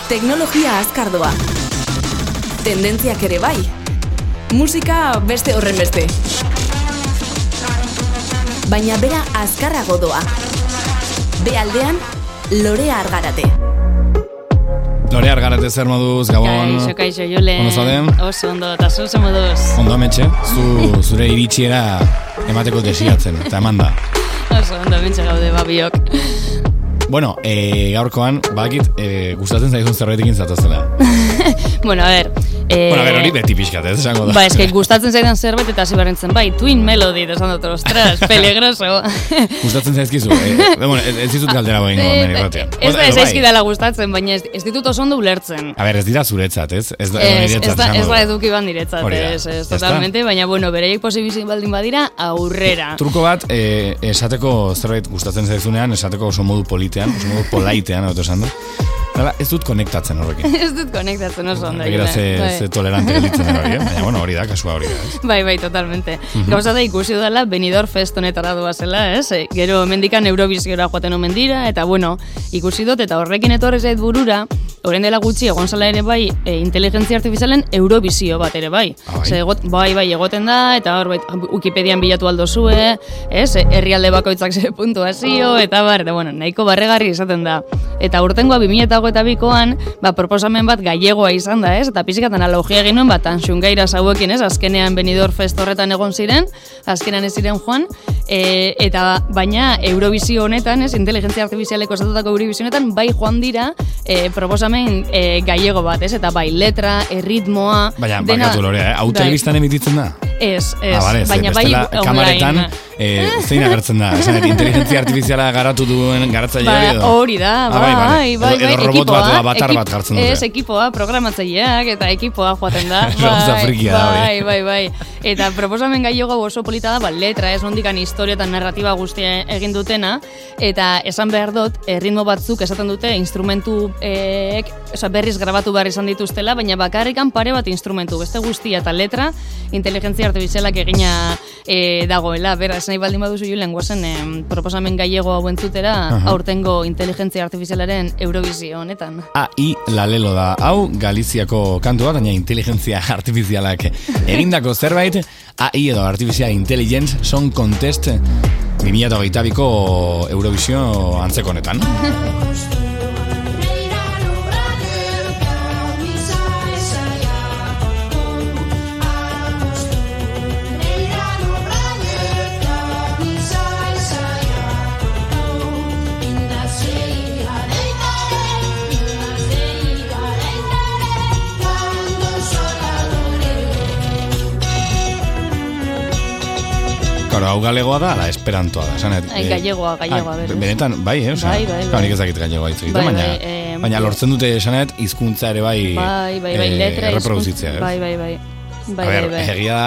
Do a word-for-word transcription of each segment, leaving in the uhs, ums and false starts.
Teknologia azkardoa. Tendentziak ere bai. Musika beste horren beste. Baina bera azkarrago doa. Bealdean, Lorea Argarate. Lorea Argarate zer moduz, Gabon? Kaixo, kaixo, Julen. Ondo zauden? Oso ondo, eta zu zer moduz. Ondo ametxe, zu, zure iritsiera emateko desiatzen, eta eman da. Oso ondo ametxe gaude babiok. Bueno, e, gaurkoan, bakit, e, gustatzen zaizun zerbaitekin zatozela. Bueno, a ver... Eh, bueno, a ver, hori beti pixkat, ez esango da. Ba, eske gustatzen zaidan zerbait eta hasi barrentzen, bai, Twin Melody, esan dut, ostras, peligroso. Gustatzen zaizkizu, e, bueno, ez dizut galdera boin gomen irratean. Ez da, ez zaizkidala gustatzen, baina ez, ez ditut oso ondo ulertzen. A ver, ez dira zuretzat, ez? Ez da, ez, ez da, ez da eduki ban diretzat, ez, ez, totalmente, baina, bueno, bereiek posibizik baldin badira, aurrera. Truko bat, e, esateko zerbait gustatzen zaizunean, esateko oso modu politean, oso modu polaitean, hau esan du. Dala, ez dut konektatzen horrekin. Ez dut konektatzen oso ondo. Begira ze, ze tolerante gelitzen den hori, eh? Baina, bueno, hori da, kasua hori da, ez? Bai, bai, totalmente. Mm-hmm. Gauza da ikusi dela Benidorm Fest honetara doazela, ez? Gero mendikan Eurovisiora joaten omen dira, eta bueno, ikusi dut, eta horrekin etorri zait burura, orain dela gutxi egon zela ere bai, e, inteligentzia artifizialen Eurovisio bat ere bai. Ah, bai. Ze, egot, bai, bai, egoten da, eta hor, bai, Wikipedian bilatu aldo zue, ez? Herrialde bakoitzak ze puntuazio, eta bar, eta bueno, nahiko barregarri izaten da. Eta urtengoa bi mila hogeita bikoan, ba, proposamen bat gallegoa izan da, ez? Eta pixkat analogia egin nuen, bat Anxungaira zauekin, ez? Azkenean Benidorm Fest horretan egon ziren, azkenean ez ziren joan, e, eta baina Eurovisio honetan, ez? Inteligentzia artifizialeko esatutako Eurovisio honetan, bai joan dira e, proposamen e, gallego bat, ez? Eta bai letra, erritmoa... Baina, bakatu Lorea, eh? Hau telebistan emititzen da? Ez, ez, ah, vale, baina bai online. Kamaretan, e, zein agertzen da? Esan, inteligentzia artifiziala garatu duen garatzaile hori edo? Hori da, bai, bai, bai, bai, edo, edo robot ekipoa, bat, batar ekip, bat jartzen dute. Ez, ekipoa, programatzaileak eta ekipoa joaten da. Gauza frikia da hori. Bai, bai, bai. Eta proposamen gaiego oso polita da, ba, letra, ez nondikan historia eta narratiba guztia egin dutena, eta esan behar dut, ritmo batzuk esaten dute, instrumentu ek, oza, berriz grabatu behar izan dituztela, baina bakarrikan pare bat instrumentu, beste guztia eta letra, inteligentzia artifizialak egina e, dagoela. Bera, esan nahi baldin baduzu Julen, guazen e, proposamen gallego hau entzutera, uh-huh. aurtengo inteligentzia artifizialaren Eurovisio honetan. A I la lelo da. Hau Galiziako kantua, baina inteligentzia artifizialak egindako zerbait, A I edo Artificial Intelligence Song Contest bi mila hogeita biko Eurovisio antzeko honetan. Claro, hau galegoa da, ala, esperantoa da, esanet. Ai, gallegoa, gallegoa, berez. Benetan, bai, eh? Osa, bai, bai, bai. Nik ezakit gallegoa hitz egiten, bai, baina, bai, eh, baina lortzen dute esanet, hizkuntza ere bai, bai, bai, bai, eh, letra, erreproduzitzea, ez? Bai, bai, bai. Bai, A ber, bai, bai. egia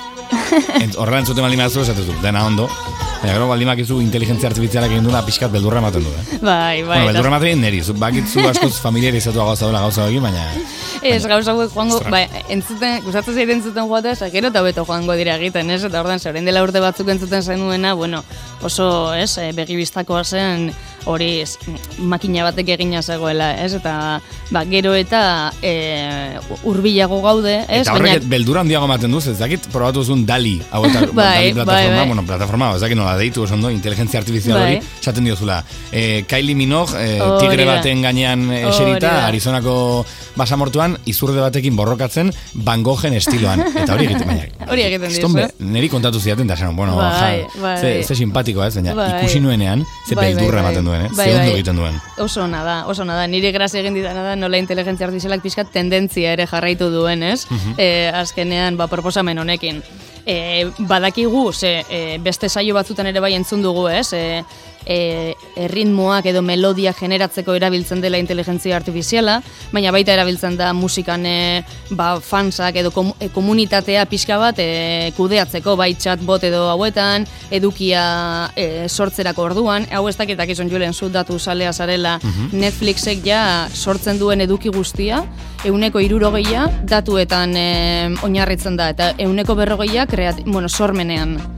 da, horrela entzuten baldin baduzu, esatezu, dena ondo, baina gero baldin bakizu inteligentzia artifizialak egin duena pixkat beldurra ematen du, eh? Bai, bai. Bueno, beldurra ematen neri, bakitzu askoz familiarizatu gauza dela gauza hori, baina... Ez, gauza hauek joango, ba, entzuten, gustatzen zaiten entzuten joatea, sakero eta beto joango dira egiten, ez? Eta ordan, orain dela urte batzuk entzuten zainuena, bueno, oso, ez, begibistakoa zen, hori, ez, makina batek egina zegoela, ez? Eta, ba, gero eta e, urbilago gaude, ez? Eta horrek baina... beldura handiago ematen duz, ez dakit, probatu zuen Dali, hau eta bai, Dali plataforma, bai, bai. bueno, plataforma, ez dakit nola deitu oso ondo, inteligentzia artifizial hori, bai. esaten diozula, e, Kylie Minogue, e, tigre baten gainean eserita, Arizonako basamortuan, izurde batekin borrokatzen Van Goghen estiloan. Eta hori egiten, baina. Hori egiten dizu. Estombe, niri kontatu zidaten, da esan, bueno, bai, ja, bai. ze, ze simpatikoa ez, baina bai. ikusi nuenean, ze bai, beldurra bai, ematen duen, eh? bai, ze ondo bai. egiten duen. Oso nada, oso nada. Nire grazia egin didana da nola inteligentzia artifizialak pixkat tendentzia ere jarraitu duen, ez? Uh-huh. E, azkenean, ba, proposamen honekin. E, badakigu, ze, e, beste saio batzutan ere bai entzun dugu, ez? E, E, erritmoak edo melodia generatzeko erabiltzen dela inteligentzia artifiziala, baina baita erabiltzen da musikan e, ba, fansak edo kom, e, komunitatea pixka bat e, kudeatzeko, bai chatbot edo hauetan, edukia e, sortzerako orduan, hau ez dakitak izan Julen zu datu salea zarela, uh-huh. Netflixek ja sortzen duen eduki guztia, euneko hirurogeia datuetan e, oinarritzen da, eta euneko berrogeia kreat, bueno, sormenean.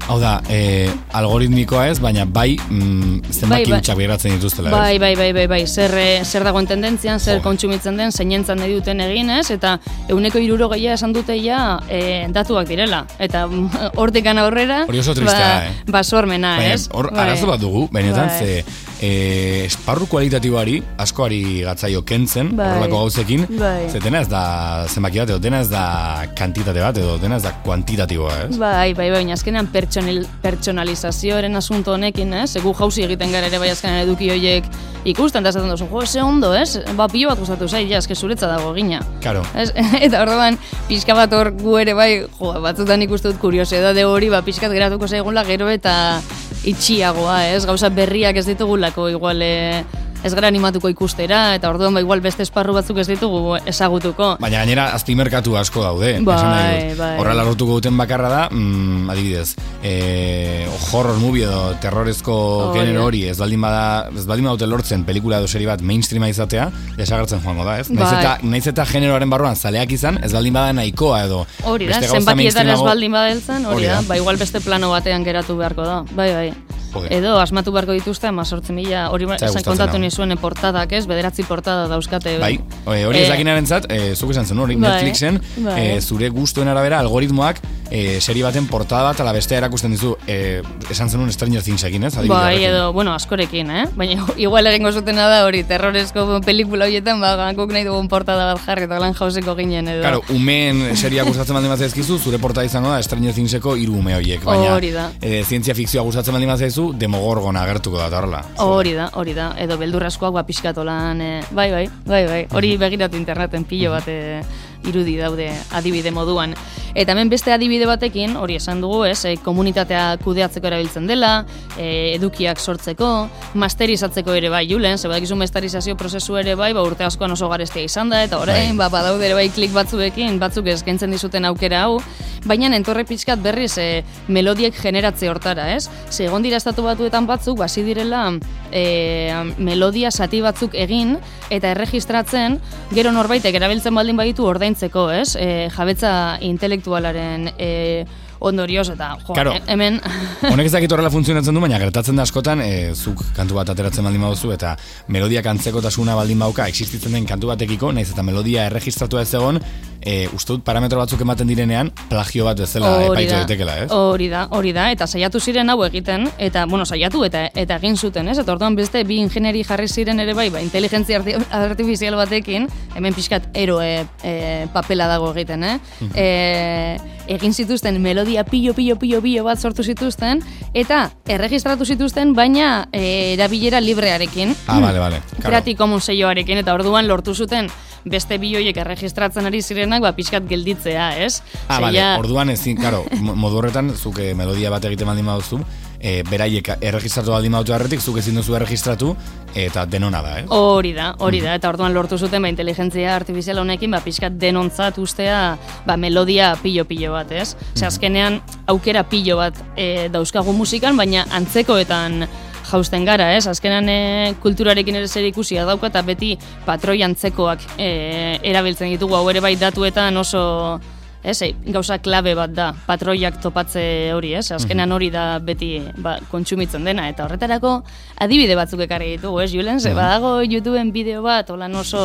Hau da, e, algoritmikoa ez, baina bai mm, zenbaki bai, hutsak beratzen dituztela. Bai, bai, bai, bai, bai, zer, zer dagoen tendentzian, zer kontsumitzen den, zeinentzan nahi duten egin ez, eta euneko iruro gehiago esan dute ja e, datuak direla. Eta hortikan aurrera, hori oso tristea, ba, eh? basormena, ez? Hor, bai. arazo bat dugu, benetan, bai. ze e, esparru kualitatiboari, askoari gatzaio kentzen, bai. horrelako gauzekin, bai. ze dena ez da zenbaki bat, edo dena ez da kantitate bat, edo dena ez da kuantitatiboa, ez? Bai, bai, bai, azkenean pertsonil, pertsonalizazioaren asunto honekin, ez? Egu jauzi egiten gara ere bai azkenean eduki horiek ikusten, eta esaten duzu, jo, ze ondo, ez? Ba, pilo bat gustatu zai, ja, eske zuretza dago gina. Claro. Ez? Eta orduan, pixka bat hor gu ere bai, jo, batzutan ikustu dut kuriosidade hori, ba, pixkat geratuko zaigula gero eta itxiagoa, ez? Gauza berriak ez ditugulako, igual, e, ez gara animatuko ikustera, eta orduan ba igual beste esparru batzuk ez ditugu ezagutuko. Baina gainera azpimerkatu asko daude. Bai, bai. Horrela lortuko duten bakarra da, mm, adibidez, e, horror movie edo terrorezko oh, genero hori, ez baldin bada, ez baldin badute lortzen pelikula edo serie bat mainstreama izatea, desagertzen joango da, ez? Bai. Naiz eta, naiz eta generoaren barruan zaleak izan, ez baldin bada nahikoa edo hori da, zenbatietan ez baldin badeltzen, hori da, ba igual beste plano batean geratu beharko da, bai, bai. Edo asmatu beharko dituzte hamazortzi mila, hori esan kontatu nizuen portadak, ez? Bederatzi portada dauzkate. Bai, hori ez dakinarentzat, zuk esan zen hori, Netflixen, zure gustuen arabera algoritmoak serie baten portada bat ala bestea erakusten dizu, esan zenun Stranger Thingsekin, ez? Bai, edo, bueno, askorekin, eh? Baina igual egingo zutena da hori, terrorezko pelikula horietan, ba, guk nahi dugun portada bat jarri, eta lan jauzeko ginen, edo. Claro, umeen seria gustatzen baldin bat zaizkizu, zure portada izango da Stranger Thingseko hiru ume horiek, baina zientzia fikzioa gustatzen baldin bat zaizu, Demogorgon agertuko da, horrela. Hori da, hori da, edo beldurraskoak ba pixkatolan, e, bai, bai, bai, bai, hori begiratu interneten pilo bat e, irudi daude adibide moduan. Eta hemen beste adibide batekin, hori esan dugu, ez, e, komunitatea kudeatzeko erabiltzen dela, e, edukiak sortzeko, masterizatzeko ere bai, Julen, ze badakizu masterizazio prozesu ere bai, ba urte askoan oso garestia izan da, eta orain, ba, badaude ere bai klik batzuekin, batzuk eskaintzen dizuten aukera hau, baina entorre pixkat berriz e, melodiek generatze hortara, ez? Ze egon dira estatu batuetan batzuk, basi direla e, melodia zati batzuk egin, eta erregistratzen, gero norbaitek erabiltzen baldin baditu ordaintzeko, ez? E, jabetza intelektualaren e, ondorioz, eta jo, claro. hemen... Honek ez dakit horrela funtzionatzen du, baina gertatzen da askotan, e, zuk kantu bat ateratzen baldin baduzu, eta melodia kantzekotasuna baldin bauka, existitzen den kantu batekiko, naiz eta melodia erregistratua ez egon, e, uste dut parametro batzuk ematen direnean, plagio bat bezala epaitu daitekela, ez? Hori da, hori da, eta saiatu ziren hau egiten, eta, bueno, saiatu eta eta egin zuten, ez? Eta orduan beste bi ingenieri jarri ziren ere bai, ba, inteligentzia artifizial batekin, hemen pixkat eroe e, papela dago egiten, eh? Uh-huh. e, egin zituzten melodia pilo, pilo, pilo, pilo bat sortu zituzten, eta erregistratu zituzten, baina e, erabilera librearekin. Ah, bale, bale. Creative Commons selloarekin, eta orduan lortu zuten beste bihoiek erregistratzen ari zirenak, ba, pixkat gelditzea, ez? Ah, bale, orduan ezin, karo, modu horretan, zuke melodia bat egiten baldin baduzu, e, beraiek erregistratu baldin badutu erretik, zuk ezin duzu erregistratu, eta denona da, ez? Hori da, hori da, eta orduan lortu zuten, ba, inteligentzia artifizial honekin, ba, pixkat denontzat ustea, ba, melodia pilo-pilo bat, ez? Ze azkenean, aukera pilo bat e, dauzkagu musikan, baina antzekoetan jausten gara, ez? Azkenan e, kulturarekin ere zer ikusia dauka, eta beti patroi antzekoak e, erabiltzen ditugu, hau ere bai datuetan oso, ez, e, gauza klabe bat da, patroiak topatze hori, ez? Azkenan hori da beti ba, kontsumitzen dena, eta horretarako adibide batzuk ekarri ditugu, ez, Julen? Ze badago YouTubeen bideo bat, holan oso,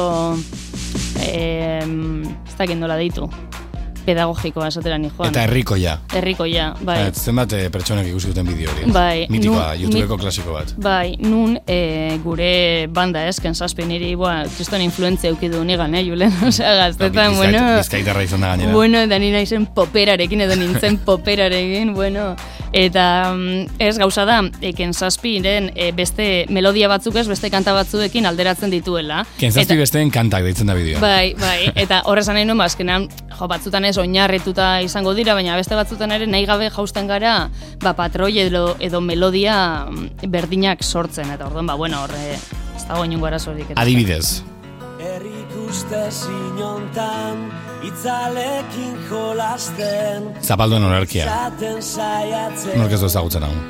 e, ez dakit nola deitu, pedagogikoa esatera ni joan. Eta herrikoia. Herrikoia, bai. Et, zenbat pertsonak ikusi duten bideo hori. Bai. Mitikoa, nun, YouTubeko mit, klasiko bat. Bai, nun e, gure banda ez, Kensazpi niri, boa, kriston influentzia eukidu nigan, eh, Julen? Osea, gaztetan, no, bueno... Bizkaitarra izan da gainera. Bueno, da nina izen poperarekin, edo nintzen poperarekin, bueno... Eta ez gauza da, e, Kensazpiren e, beste melodia batzuk ez, beste kanta batzuekin alderatzen dituela. Kensazpi besteen kantak deitzen da bideoa. Bai, bai, eta horrezan nahi nuen, bazkenean, jo, batzutan ez oinarrituta izango dira, baina beste batzutan ere nahi gabe jausten gara, ba, patroi edo, edo melodia berdinak sortzen, eta orduan, ba, bueno, horre, ez dago inungo arazorik. Adibidez. Errikuste zinontan, itzalekin jolasten. Zapalduen olerkia. Nork ez du ezagutzen hau.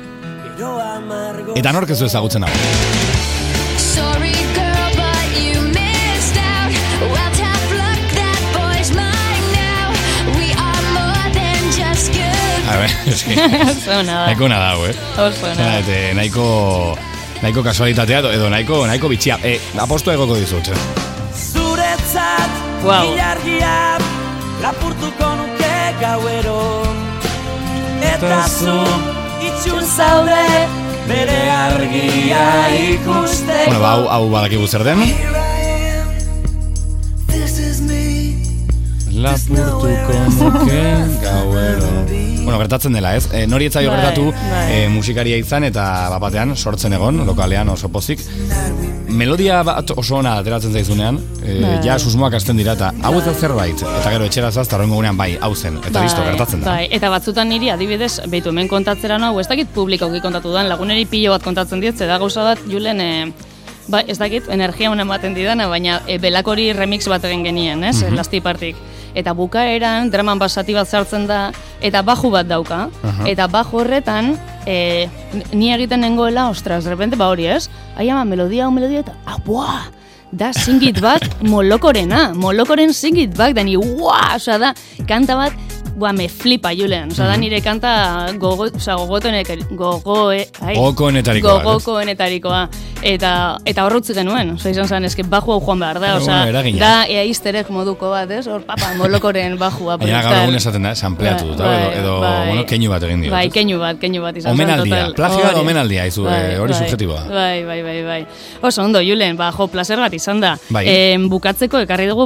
Eta nork ez du ezagutzen hau. Sorry girl, but you missed out. Well, tough luck, that boy's mine now. We are more than just good. eh? Eski, Oso ona da. nahiko ona dago, eh? Oso ona da. Eta nahiko, nahiko kasualitatea edo nahiko, nahiko bitxia. E, apostu egoko dizut. Zuretzat Wow. ilargia lapurtuko nuke gauero. Eta zu itxun zaude bere argia ikusteko. Bueno, ba, hau, hau badakigu zer den. Lapurtuko nuke gauero. Bueno, gertatzen dela, ez? E, nori etzaio Bai, gertatu bai. e, musikaria izan eta bapatean sortzen egon, lokalean oso pozik. Melodia bat oso ona ateratzen zaizunean, e, Bai. ja susmoak hasten dira eta hau ez da zerbait, eta gero etxera zaz, eta horrengo gunean bai, hau zen, eta listo, gertatzen da. Bai, eta batzutan niri adibidez, behitu hemen kontatzera hau, ez dakit publikoki kontatu dan, laguneri pilo bat kontatzen diet, da gauza bat, Julen, e, ba, ez dakit, energia honen ematen didana, baina e, belakori remix bat egin genien, ez, Mhm. Lasti Partik. Eta bukaeran, draman basati bat sartzen da, eta baju bat dauka, Aha. eta baju horretan, e, ni egiten nengoela, ostras, de repente, ba hori, ez? Ai ama, melodia, un melodia, eta, ah, buah! Da singit bat molokorena, molokoren singit bat, da ni, uah, osea da, kanta bat, buah, me flipa, Julen, osea da nire kanta gogo, osea, gogotonek, gogo, eh, ai, Gogoenetarikoa, ez? gogokoenetarikoa, eta, eta horrutzi genuen, osea, izan zen, eske baju hau joan behar da, Bueno, osea, eragina. da, ea easter moduko bat, ez, hor, papa, molokoren bajua, Baina gaur egun esaten da, sampleatu dut, Bai, edo, edo bai. bueno, keinu bat egin dio. Bai, keinu bat, keinu bat izan zen, Omenaldia, total. plagioa edo Hori. omenaldia, izu, eh, hori bai, subjektiboa. Bai, bai, bai, bai. Oso ondo, Julen, ba, jo, placer bat izan da. Bai. Eh, bukatzeko ekarri dugu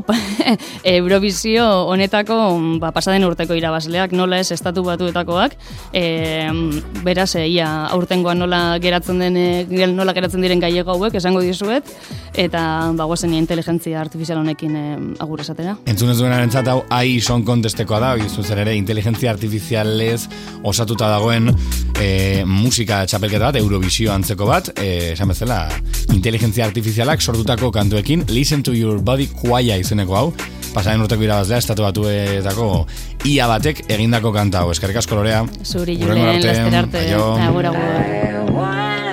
Eurovisio honetako ba, pasaden urteko irabazleak, nola ez estatu batuetakoak. Eh, beraz, eh, ia aurtengoan nola geratzen den, eh, nola geratzen diren gaiego hauek, esango dizuet, eta ba, guazen inteligentzia artifizial honekin eh, agur esatera. Entzun ez duenaren zat, hau AI Song Contestekoa da, bizu zer ere, inteligentzia artifizialez osatuta dagoen e, musika txapelketa bat, Eurovisio antzeko bat, e, esan bezala, inteligentzia artifizialak sortutako kantuekin, Listen to Your Body Choir izeneko hau, pasaren urteko irabazlea, estatu batuetako ia batek egindako kanta hau. Eskerrik asko Lorea. Zuri, Hurrengo Julen, arte. laster arte. Aio. Agur, agur.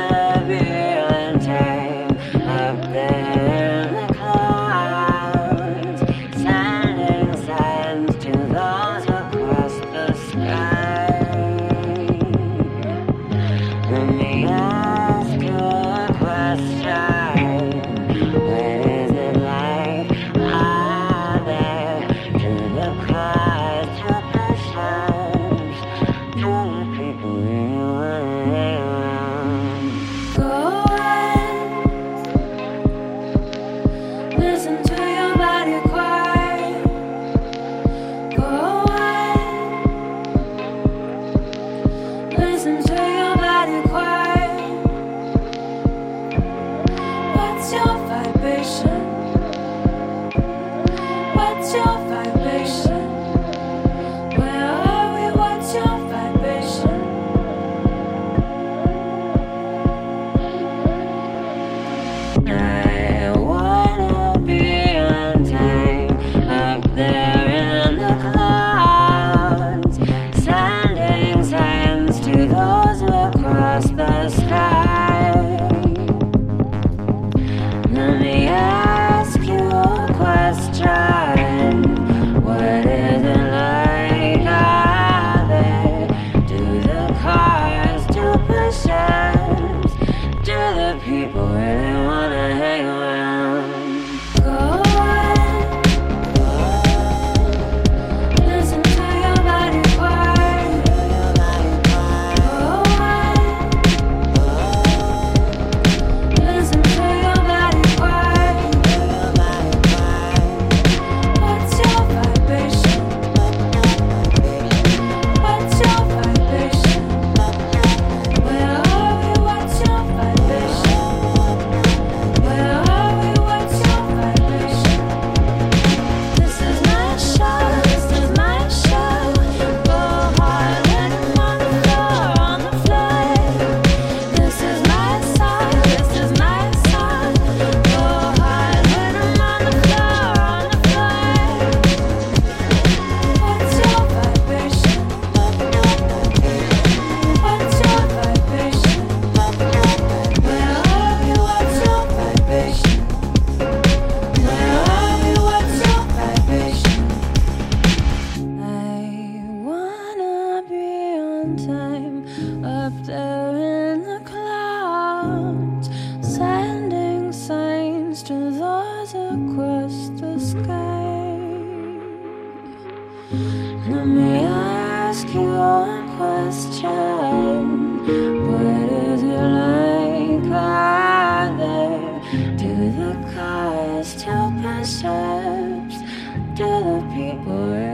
I wanna be stars across the sky. Let me ask you one question. What is it like out there? Do the cars tell concepts? Do the people